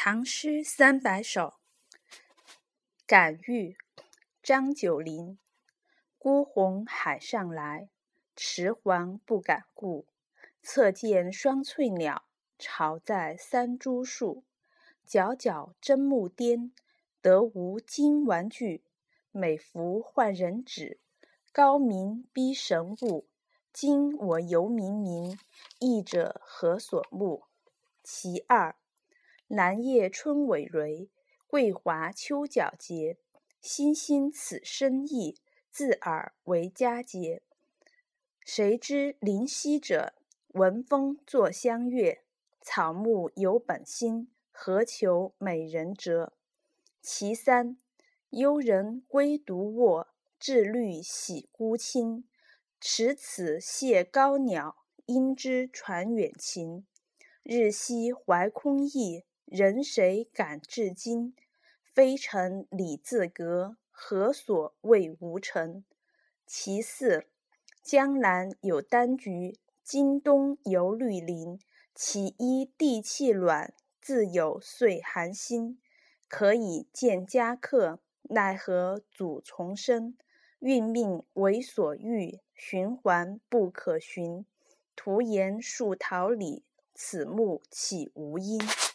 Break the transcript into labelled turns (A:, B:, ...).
A: 唐诗300首。感遇，张九龄。孤鸿海上来，迟缓不敢顾。侧见双翠鸟，巢在三株树。皎皎真木颠，得无金玩具。美服换人指，高明逼神物。今我犹冥冥，译者何所慕？其二，南叶春葳蕤，桂华秋皎洁。欣欣此生意，自尔为佳节。谁知灵犀者，闻风作相悦。草木有本心，何求美人折？其三，幽人归独卧，至虑喜孤清。持此谢高鸟，应知传远情。日夕怀空意，人谁感至今？非诚礼自隔，何所谓无成？其四，江南有丹菊，今冬有绿林。其一地气暖，自有岁寒心。可以见佳客，奈何阻丛生？运命为所欲，循环不可循。徒言树桃李，此木岂无因？